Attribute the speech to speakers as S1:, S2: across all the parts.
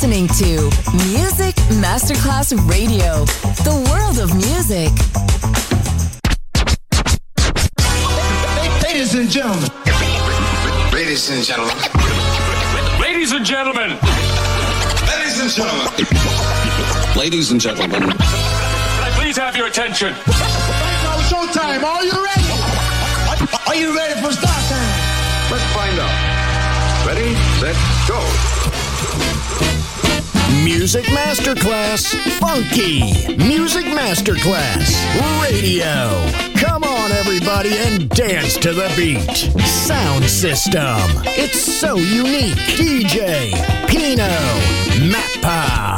S1: listening to Music Masterclass Radio, the world of music.
S2: Ladies and gentlemen.
S3: Ladies and gentlemen.
S4: Ladies and gentlemen.
S3: Ladies and gentlemen. Ladies and gentlemen.
S4: Can I please have your attention?
S2: Now showtime. Are you ready? Are you ready for start time?
S3: Let's find out. Ready, set, go.
S5: Music Masterclass Funky. Music Masterclass Radio. Come on, everybody, and dance to the beat. Sound system. It's so unique. DJ Pino Mappa.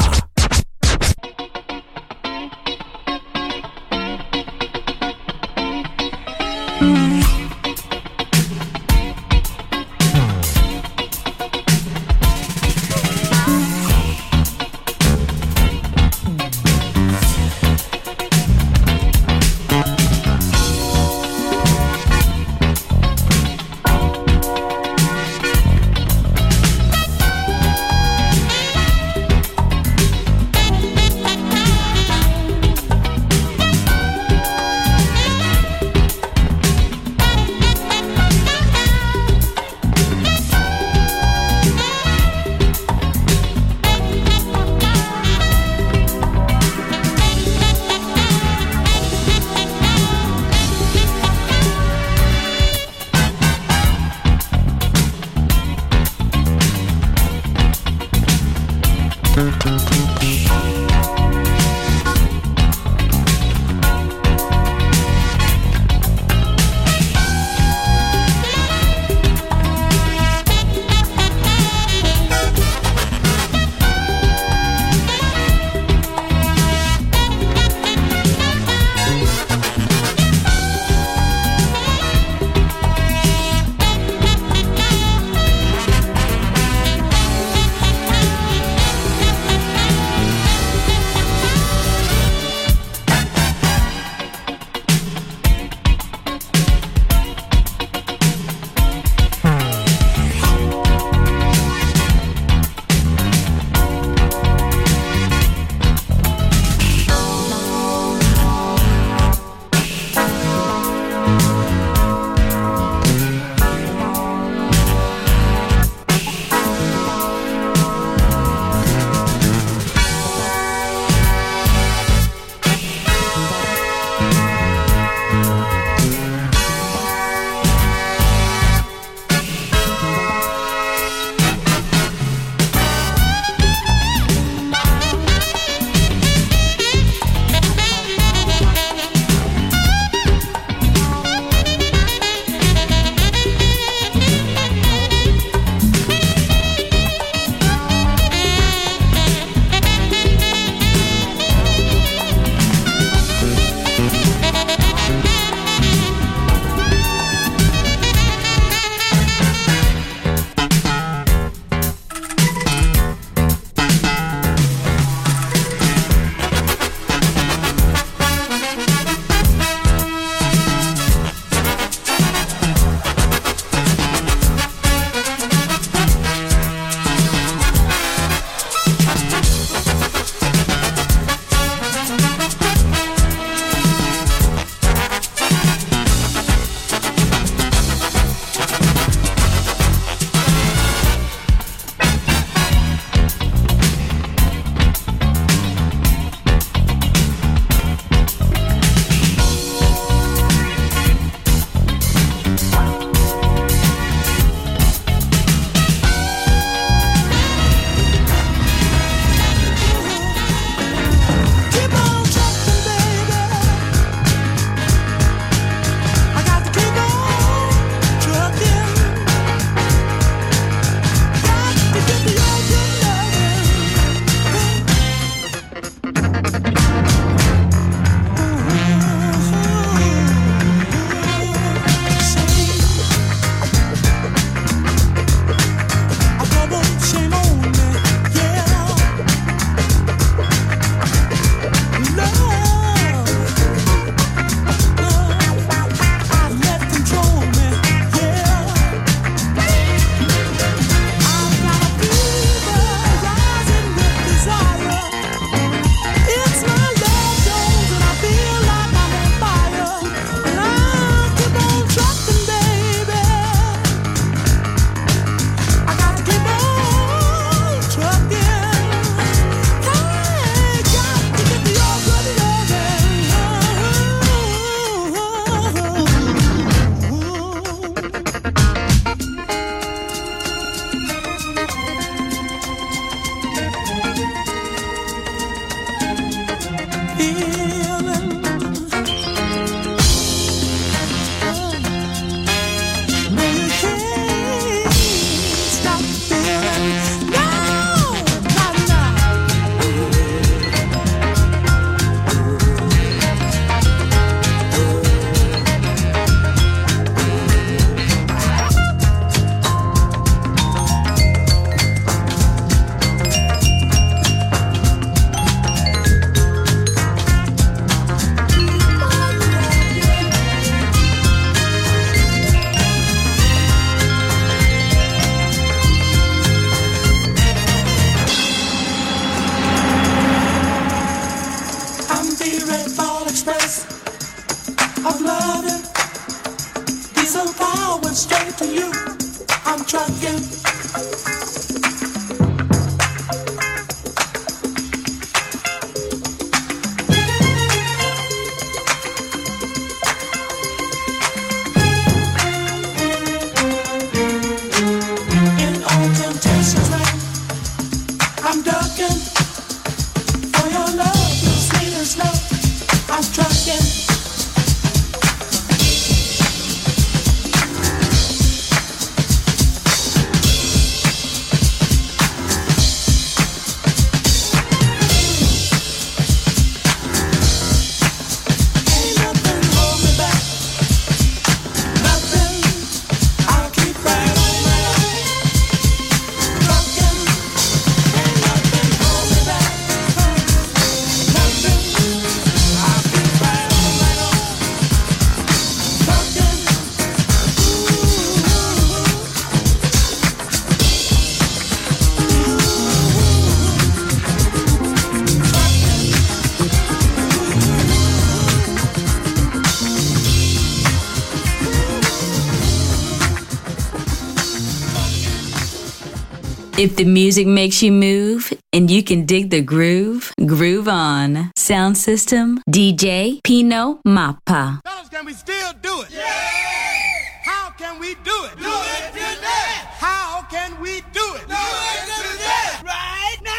S6: If the music makes you move and you can dig the groove, groove on. Sound system, DJ Pino Mappa.
S2: Fellas, can we still do it? Yeah! How can we do it? Do it today! How can we do it? Do it today! Right now!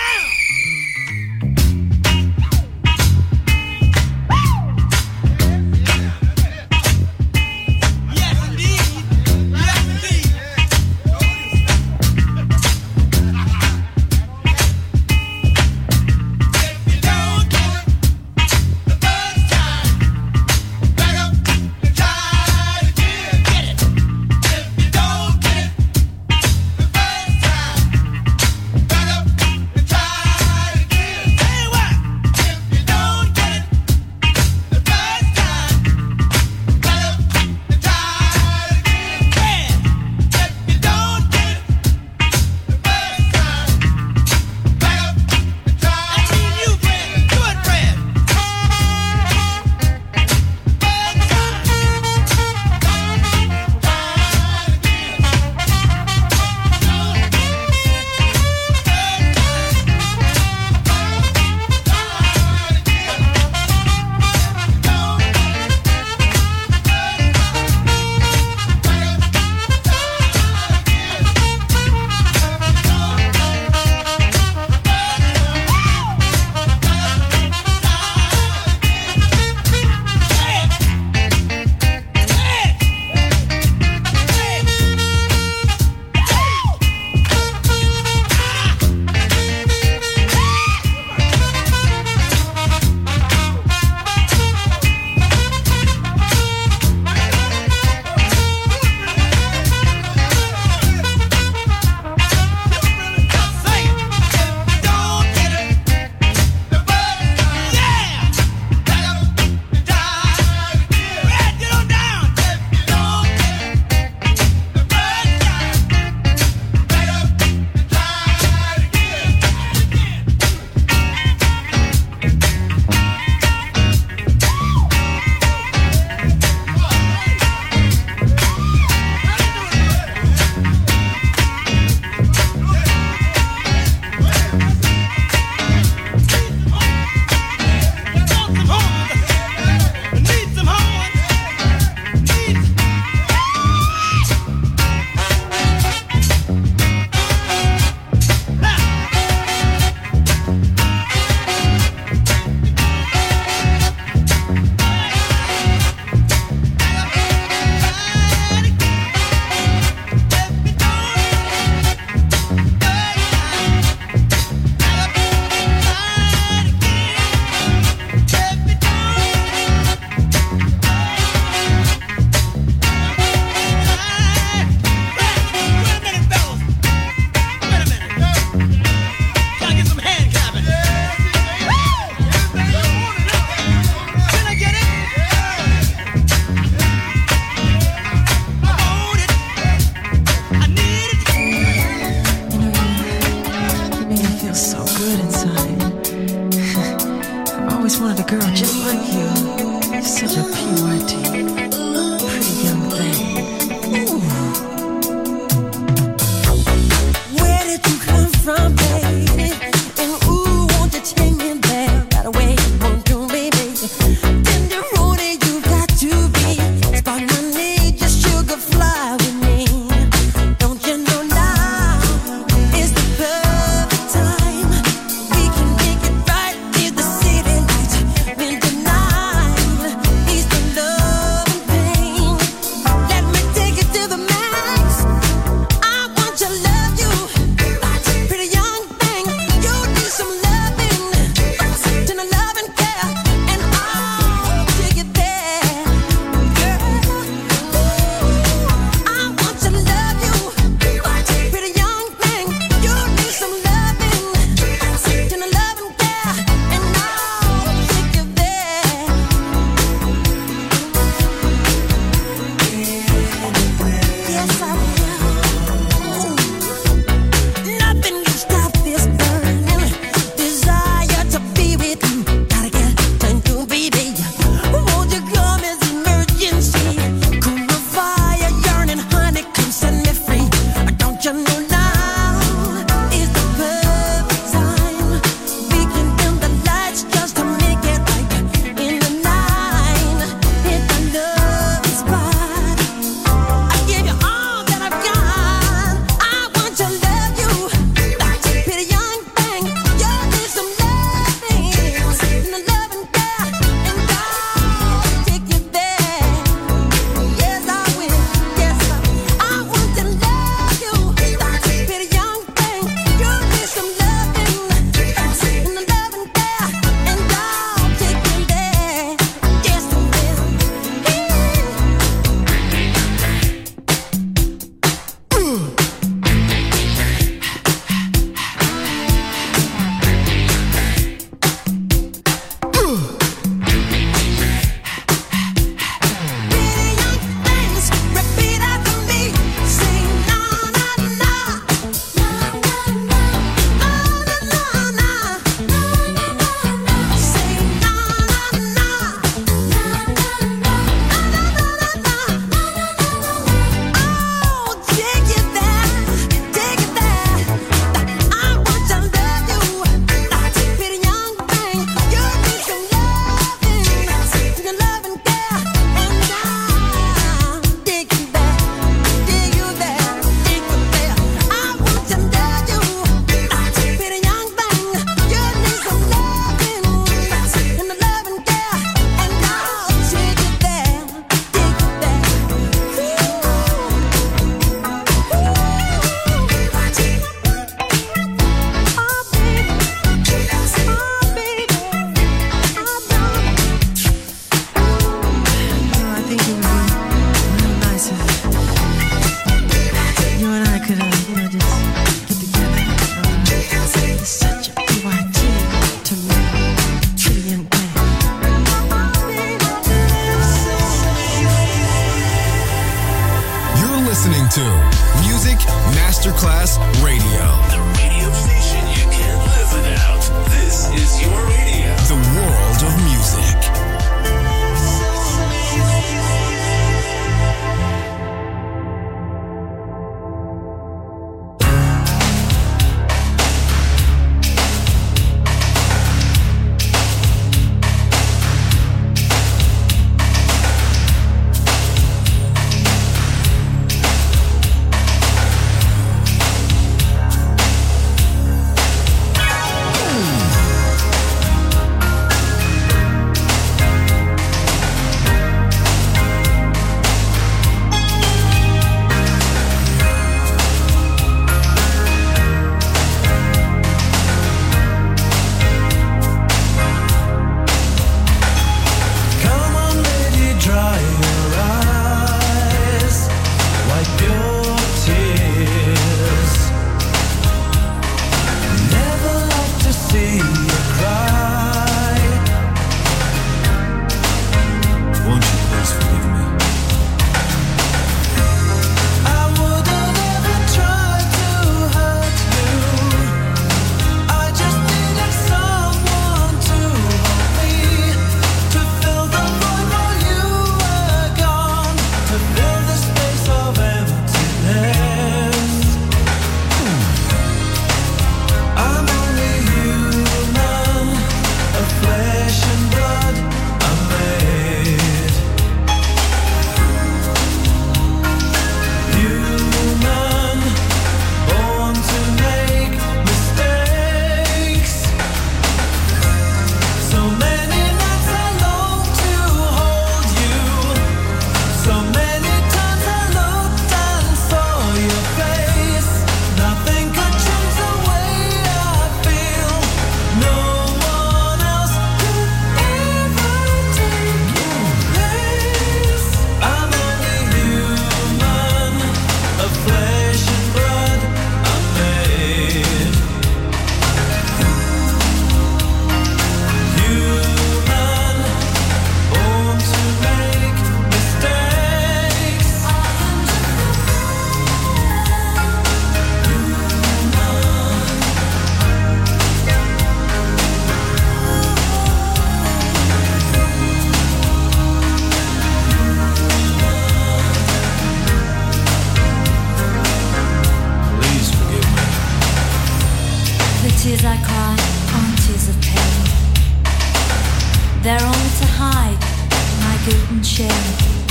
S7: the tears I cry aren't tears of pain. They're only to hide my guilt and shame.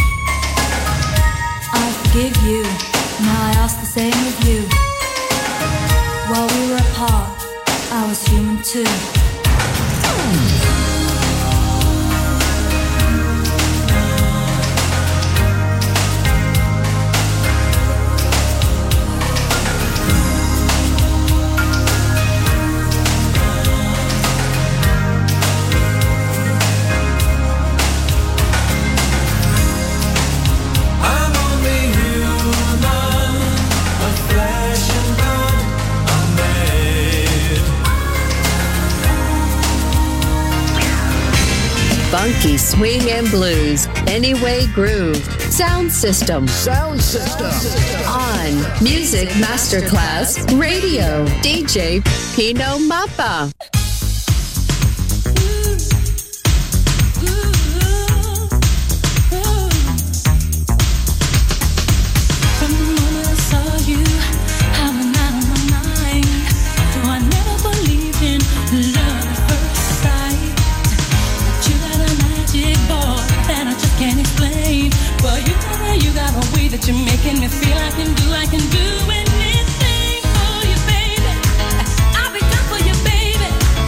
S7: I forgive you, now I ask the same of you. While we were apart, I was human too.
S8: Funky swing and blues, Anyway Groove, Sound System.
S5: Sound System.
S8: On Music Masterclass Radio, DJ Pino Mappa.
S9: That you're making me feel I can do anything for you, baby. I'll be down for you, baby.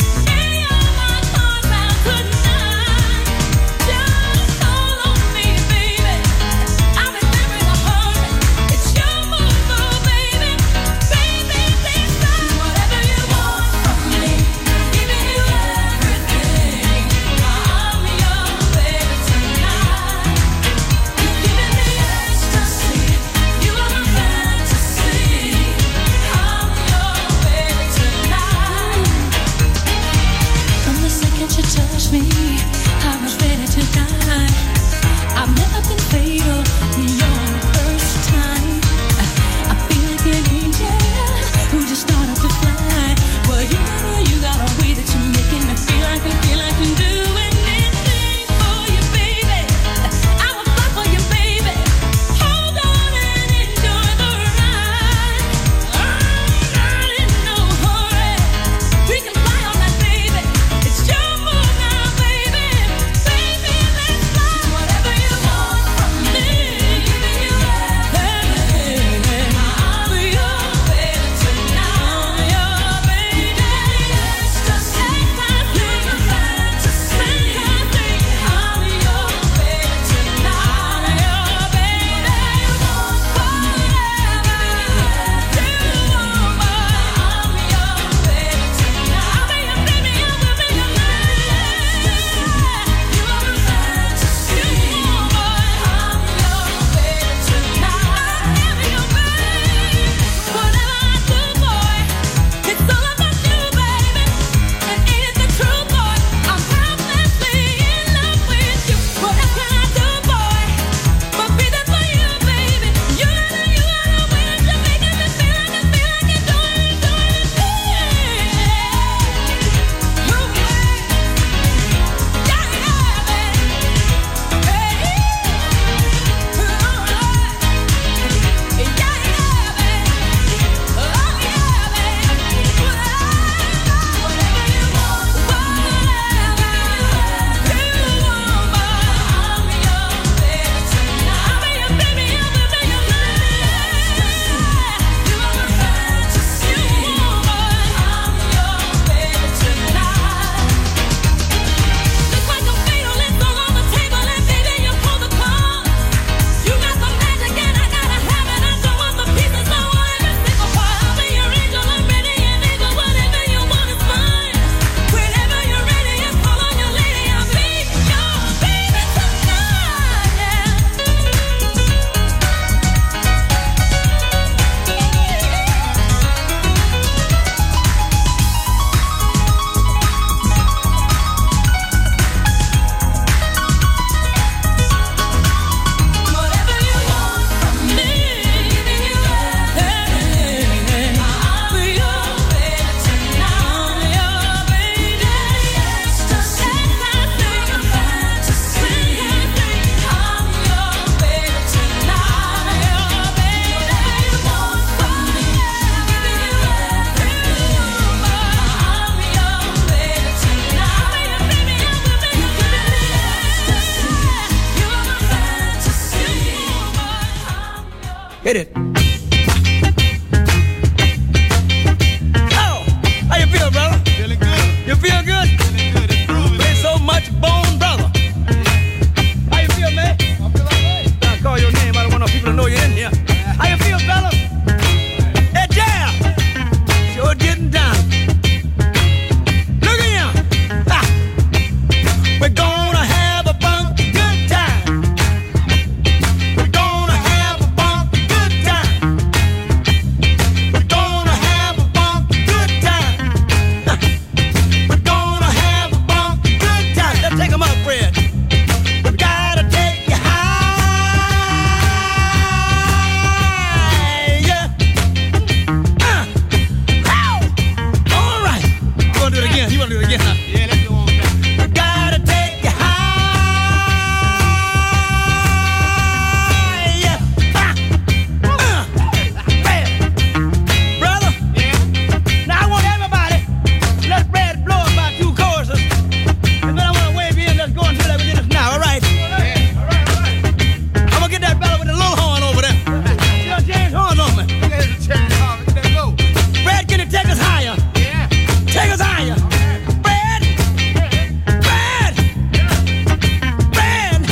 S10: Hit it. Oh, how you feel, brother?
S2: Feeling good.
S10: You feel good?
S2: Feeling good. It's grooving.
S10: Play so much bone, brother. How you feel, man?
S2: I feel all right.
S10: I call your name. I don't want no people to know you're in here. How you feel, fella? Hey, Jam! Sure getting down. Look at him. Ha. We're gonna have a funky good time. We're gonna have a funky good time. We're gonna have a funky good time. Ha. We're gonna have a funky good time. Let's take 'em up, Fred. We gotta take you high. Yeah. Ow. All right. You wanna do it again? You wanna do it again, huh?
S2: Yeah, let's go on back.
S10: We gotta take you high. Yeah. Fred. Brother.
S2: Yeah.
S10: Now I want everybody, let Fred blow about 2 choruses. And then I want to wave in, let's go and do that within us now, all right?
S2: Yeah. All right, all right.
S10: I'm going to get that fella with the little horn over there. You know, James Horn on me.
S2: Look at the chain off. Let's go.
S10: Fred, can you take us higher?
S2: Yeah.
S10: Take us higher. Fred! Fred! Fred!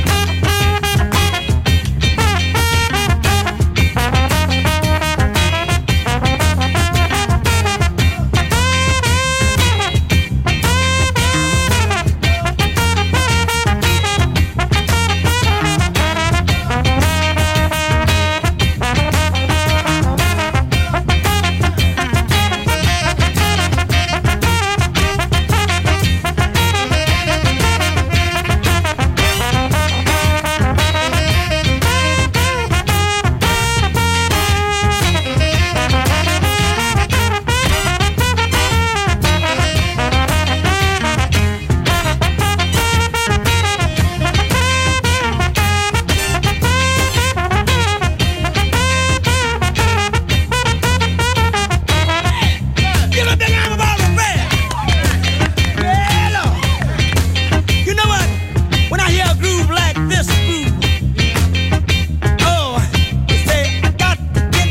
S10: Give a big arm about the Fred! Yeah, Lord. You know what? When I hear a groove like this groove, oh, you say, I got to get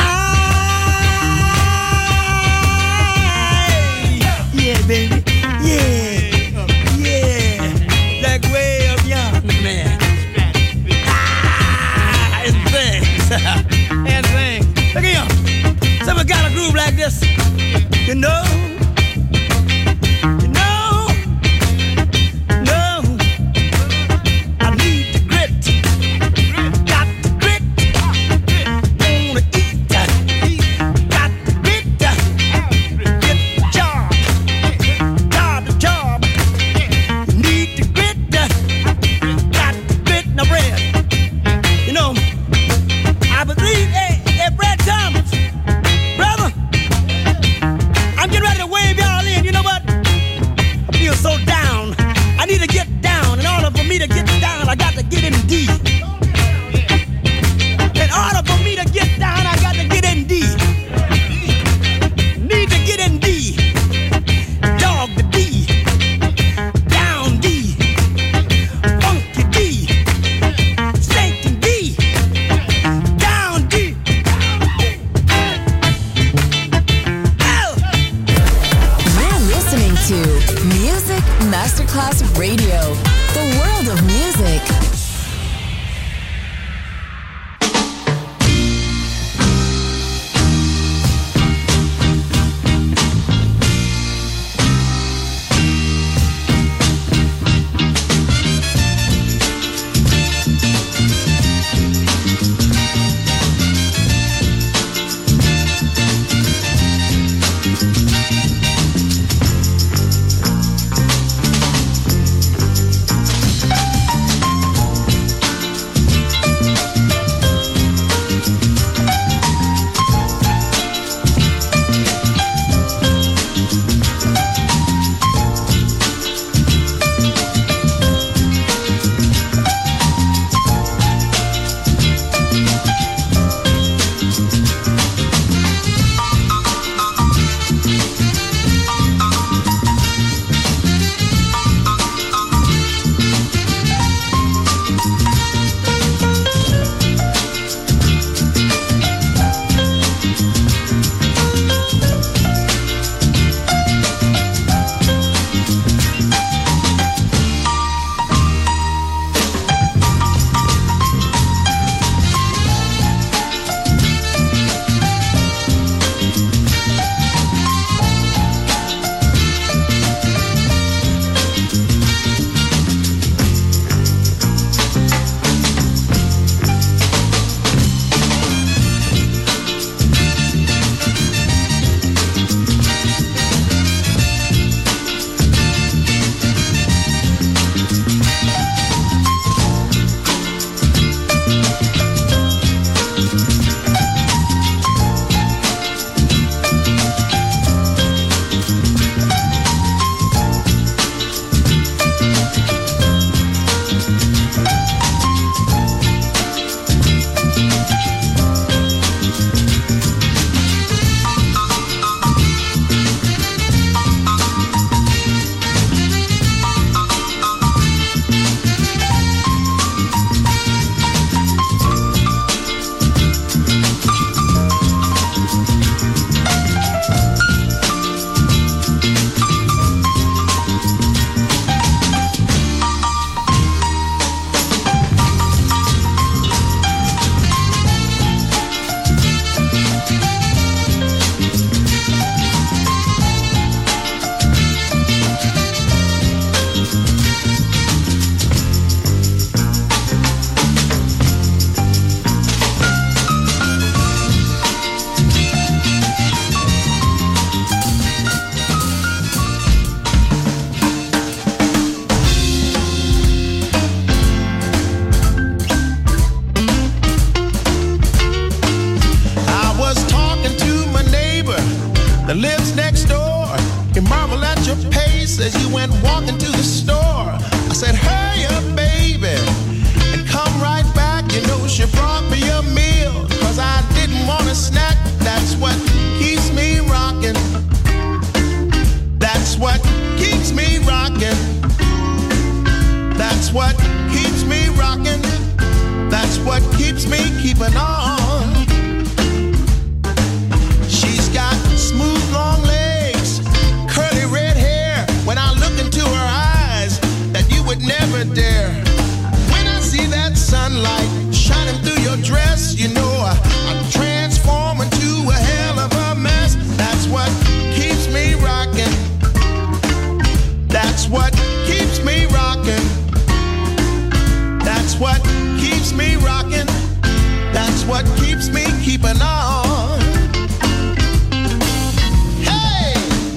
S10: high. Yeah, baby. Yeah. Yeah. Like way up young, man. Ah, and things. And things. Look at you. Someone got a groove like this. You know, I need the grit, got the grit, wanna eat, got the grit, get the job, need the grit, got the grit, now Fred, you know, I believe, hey, Fred Thomas, brother, I'm getting ready to wave y'all in. You know what? I feel so down. I need to get down. In order for me to get down, I got to get in deep. In order for me to get down, I got to get in deep. Need to get in deep. Dog the D. Down D. Funky D. Stinking D. Down D.
S1: You're listening to Music Masterclass Radio, the world of music.
S11: marvel at your pace as you went walking to the store. I said, hurry up, baby, and come right back. You know she brought me a meal, 'cause I didn't want a snack. That's what keeps me rocking. That's what keeps me rocking. That's what keeps me rocking. That's what keeps me keeping on. She's got smooth long legs, curly red hair. When I look into her eyes, that you would never dare. When I see that sunlight shining through your dress, you know I'm transforming to a hell of a mess. That's what keeps me rocking. That's what keeps me rocking. That's what keeps me rocking. That's what keeps me keeping on. Hey!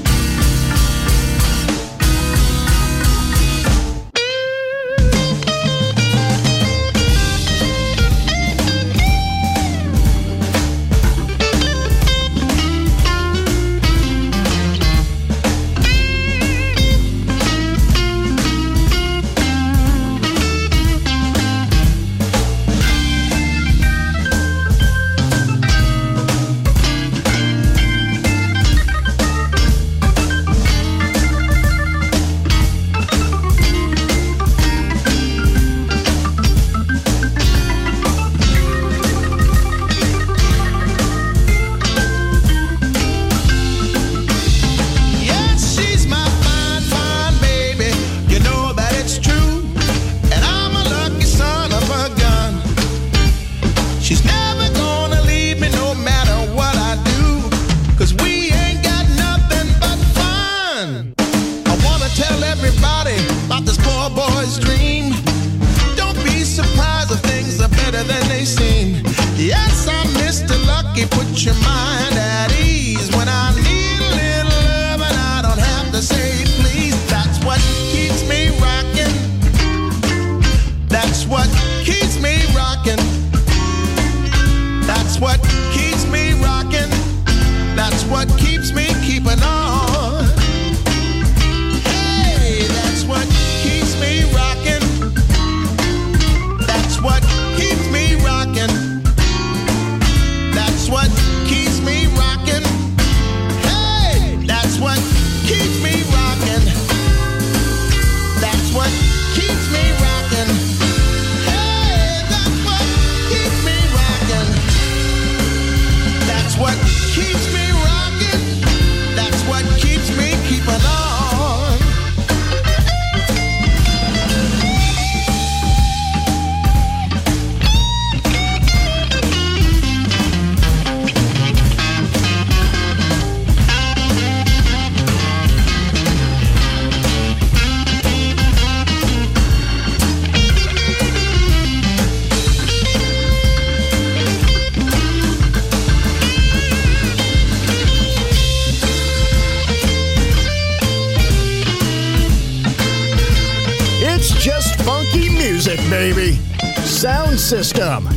S5: Baby. Sound System,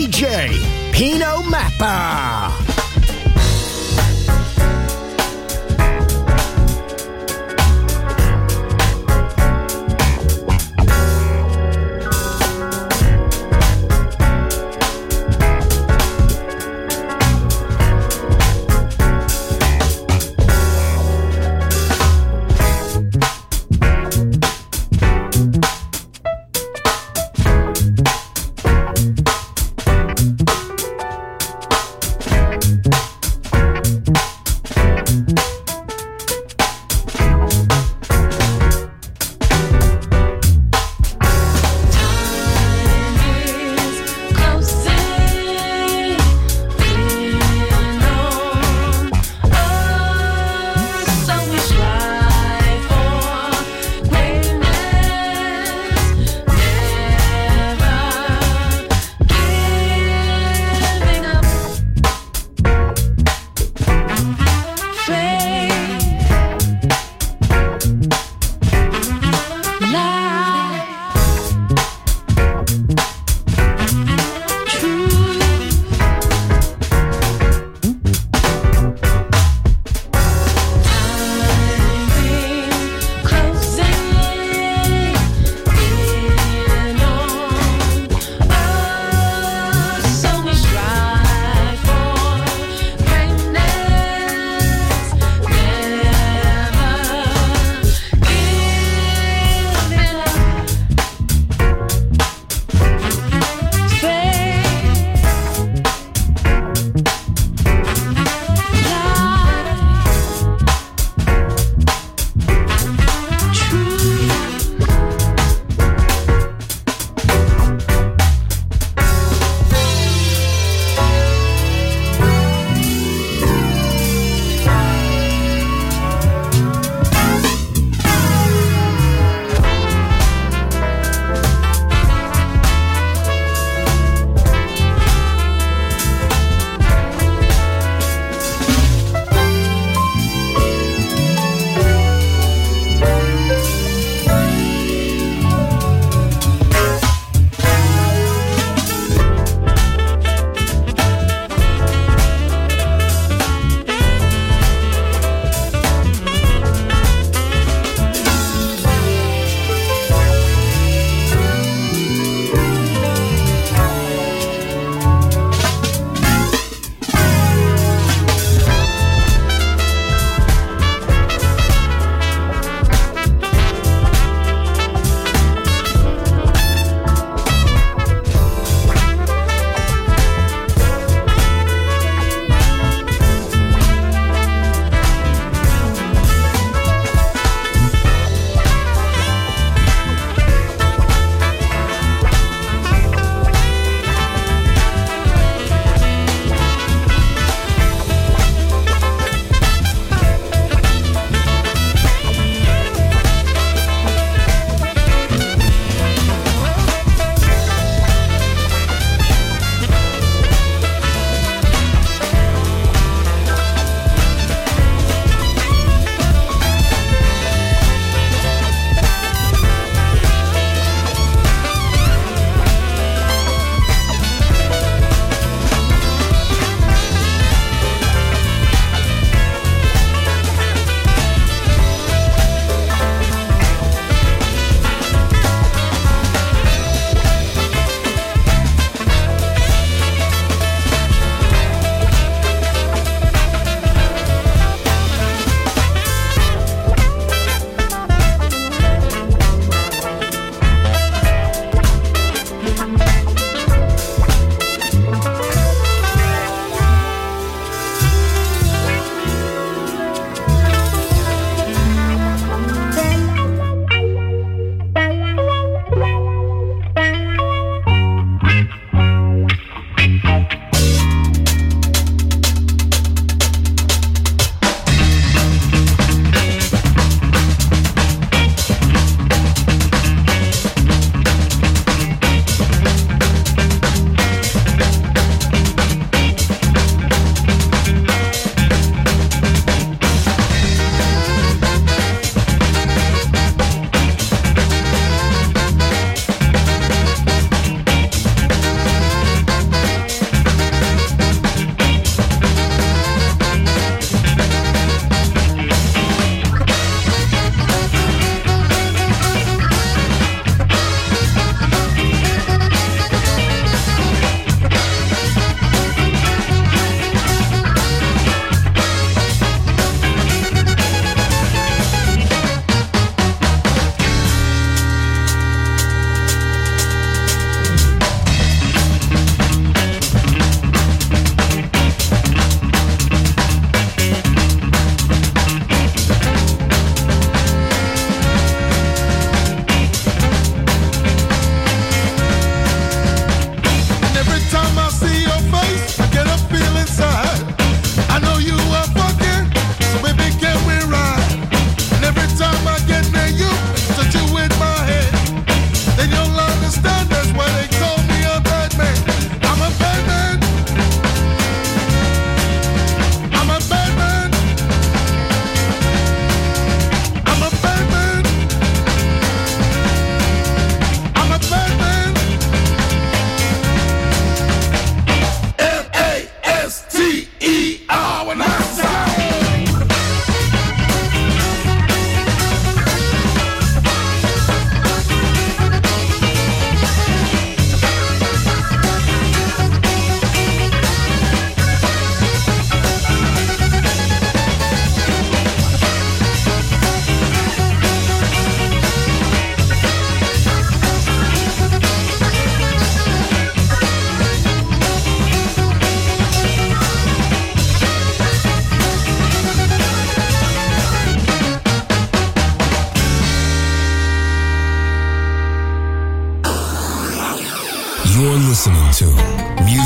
S5: DJ Pino Mappa.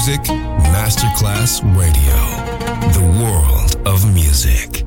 S12: Music Masterclass Radio. The world of music.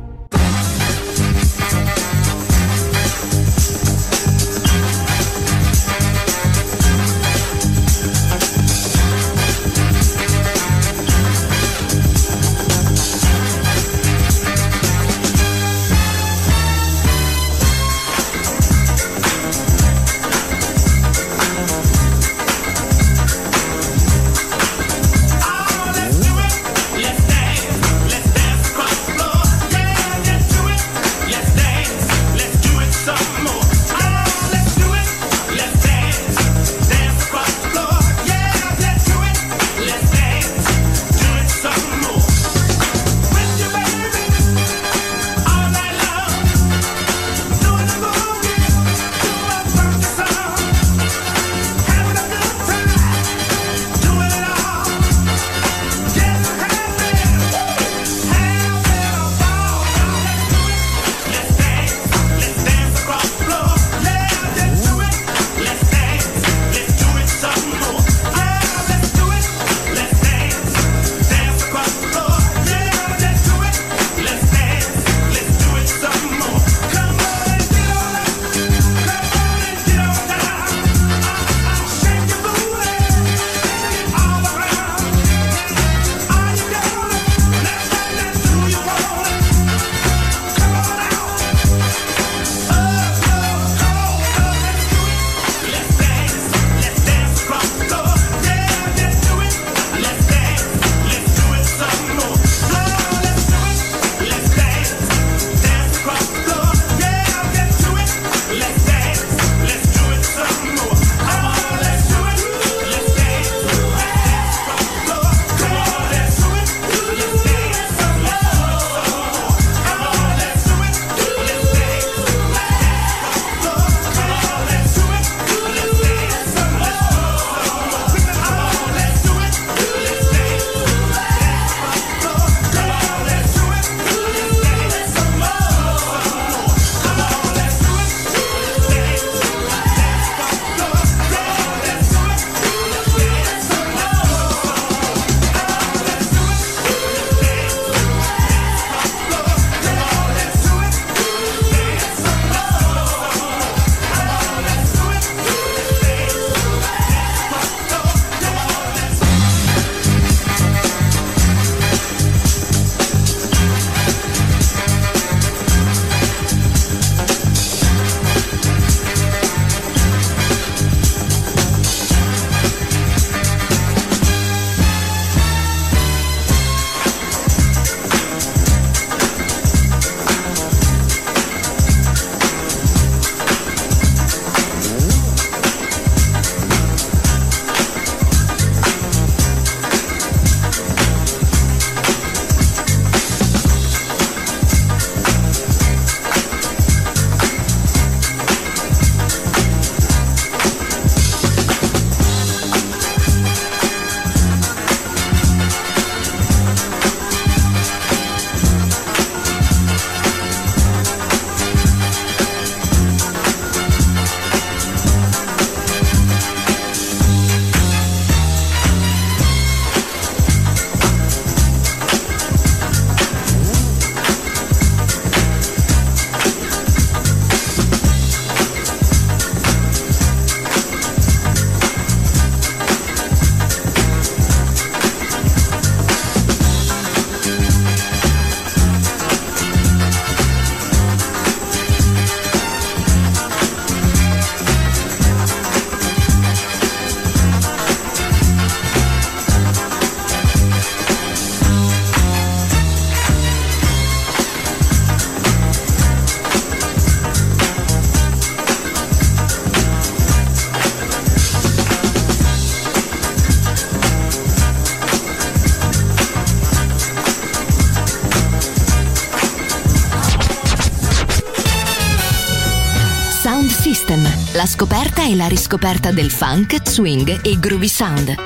S13: System, la scoperta e la riscoperta del funk, swing e groovy sound.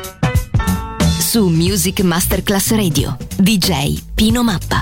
S13: Su Music Masterclass Radio, DJ Pino Mappa.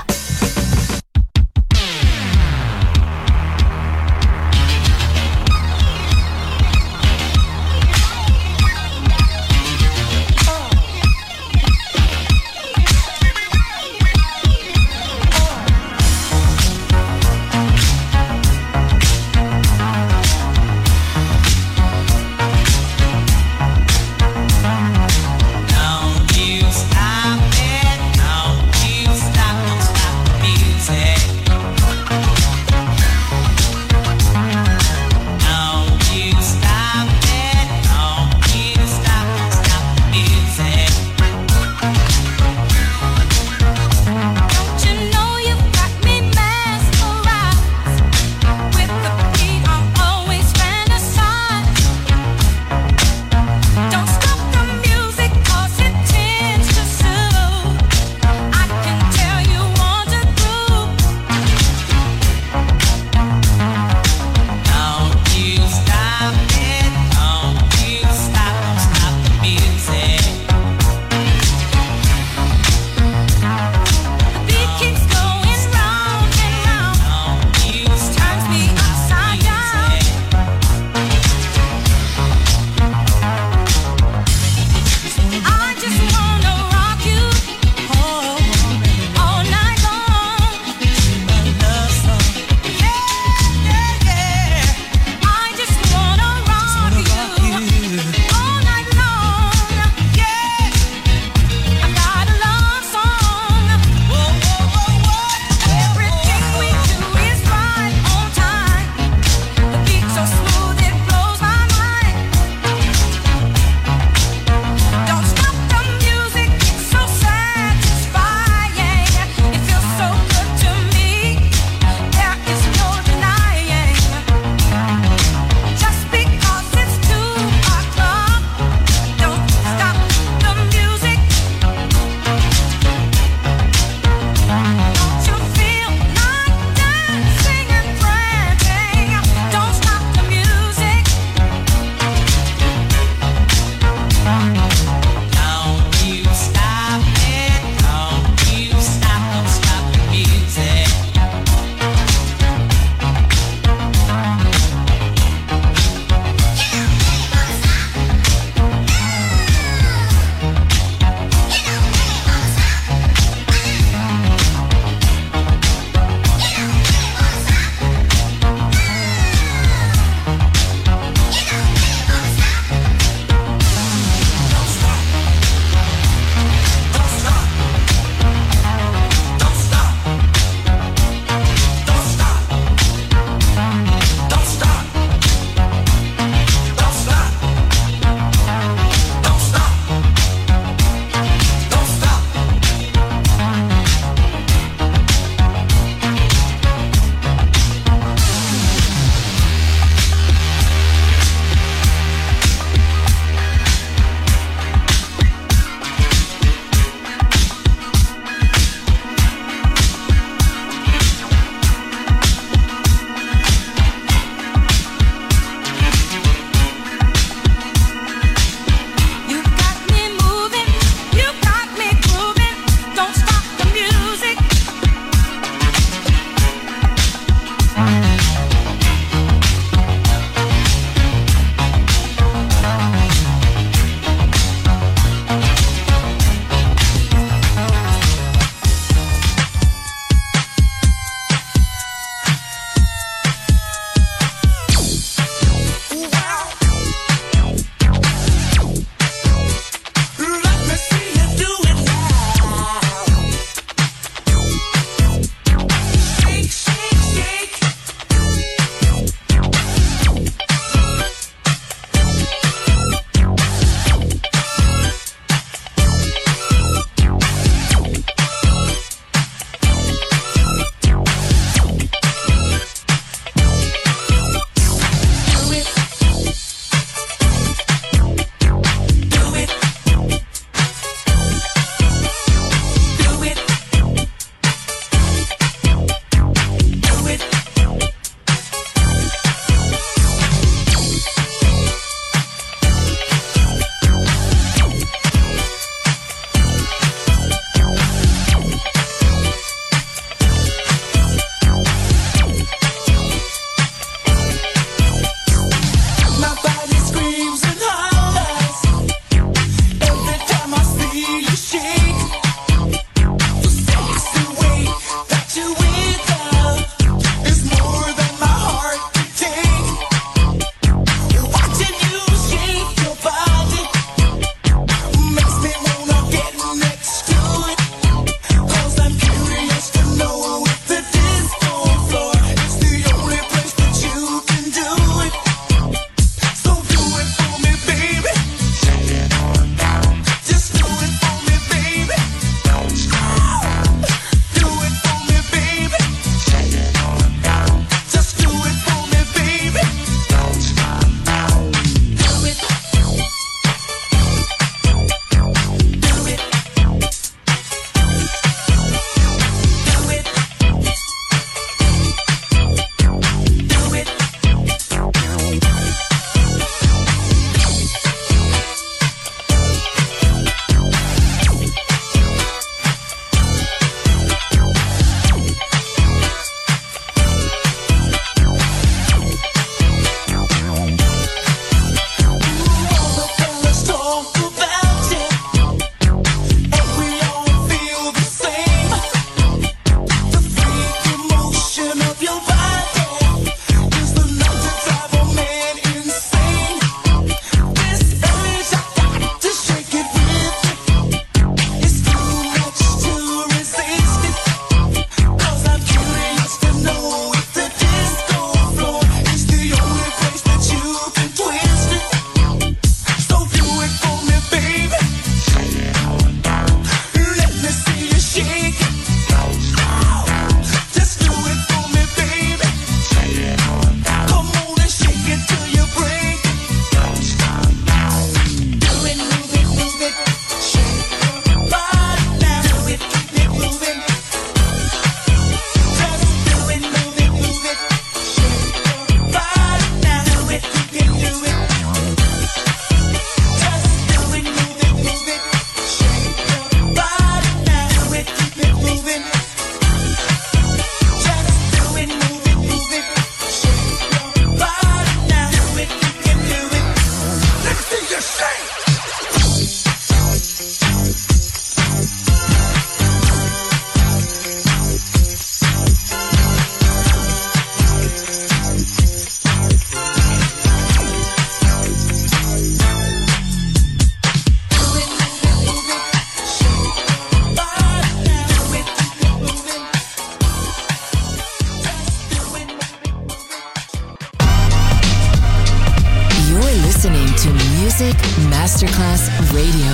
S1: Music Masterclass Radio.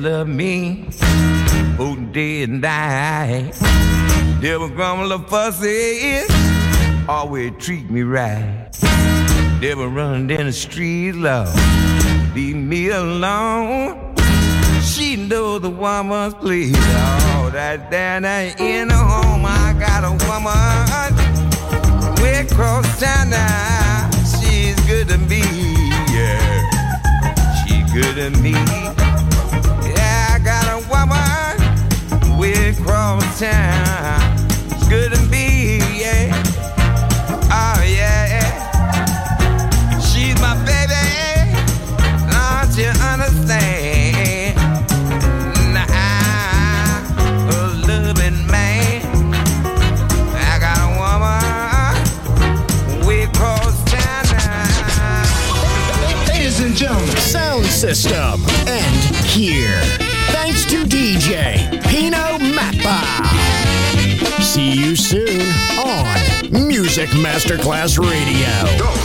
S14: love me both day and night. Never grumble or fussy, always treat me right. Never run in the street, love, leave me alone. She knows the woman's please. Oh, that down in the home, I got a woman way across town now. She's good to me, yeah. She's good to me. Yeah, I got a woman way across town. She's good to me, yeah. Oh, yeah. She's my baby. Don't you understand? Nah, a loving man. I got a woman way across town now.
S5: Ladies and gentlemen, sound system and here. Thanks to DJ Pino Mappa. See you soon on Music Masterclass Radio.